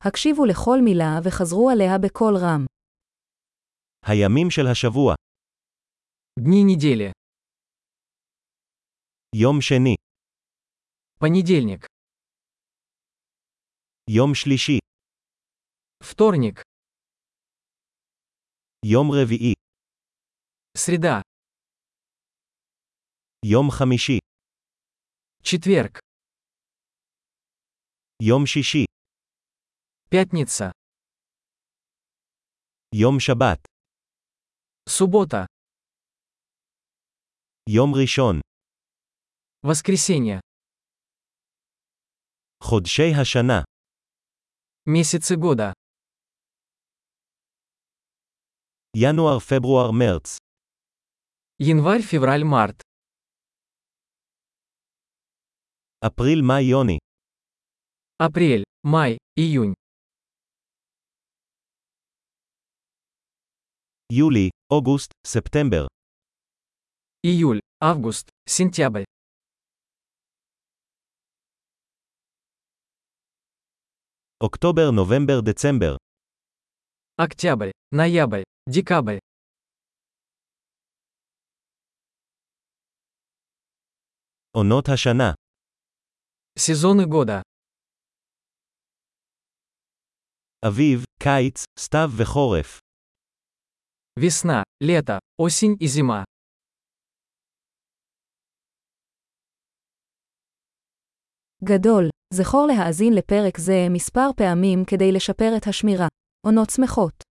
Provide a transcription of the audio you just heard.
הקשיבו לכל מילה וחזרו עליה בקול רם. הימים של השבוע. Дни недели. יום שני. Понедельник. יום שלישי. Вторник. יום רביעי. Среда. יום חמישי. Четверг. יום שישי. Пятница. יום שבת. Суббота. יום ראשון. Воскресенье. חודשי השנה. Месяцы года. ינואר, פברואר, מרץ. Январь, февраль, март. אפריל, מאי, יוני. Апрель, май, июнь. יולי, אוגוסט, ספטמבר. Июль, август, сентябрь. אוקטובר, נובמבר, דצמבר. Октябрь, ноябрь, декабрь. עונות השנה. Сезоны года. אביב, קיץ, סתיו וחורף. Весна, лето, осень и зима. גדול, זכור להאזין לפרק זה מספר פעמים כדי לשפר את השמירה. עונות שמחות.